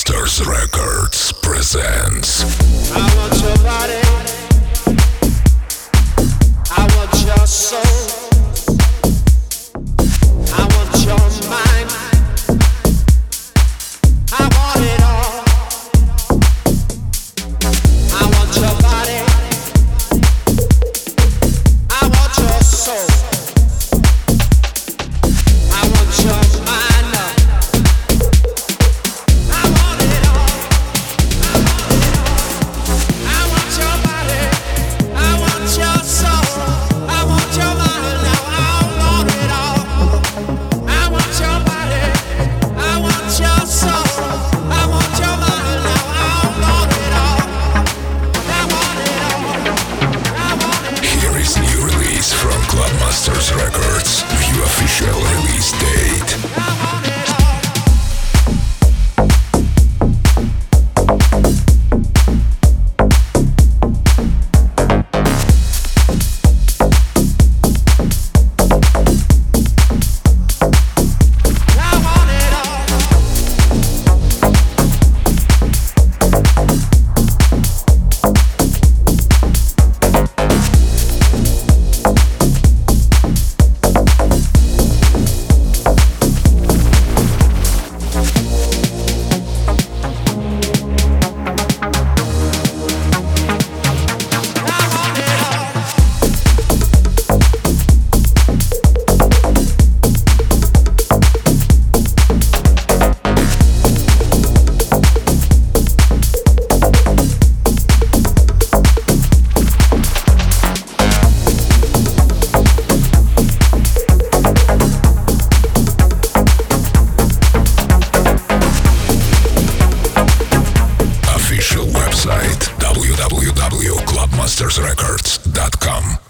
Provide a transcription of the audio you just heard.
Masters Records presents. I want your body, I want your soul, I want your mind, I want it all. I want your body, I want your soul, I want your mind, I want it all. I want your body, I want your soul, I want your mind, now I want it all. I want your body, I want your soul, I want your mind, now I want it all. I want it all, I want it. Here is new release from Club Masters Records. View official release date. I want it all. I want it all. I want it all. Official website www.clubmastersrecords.com.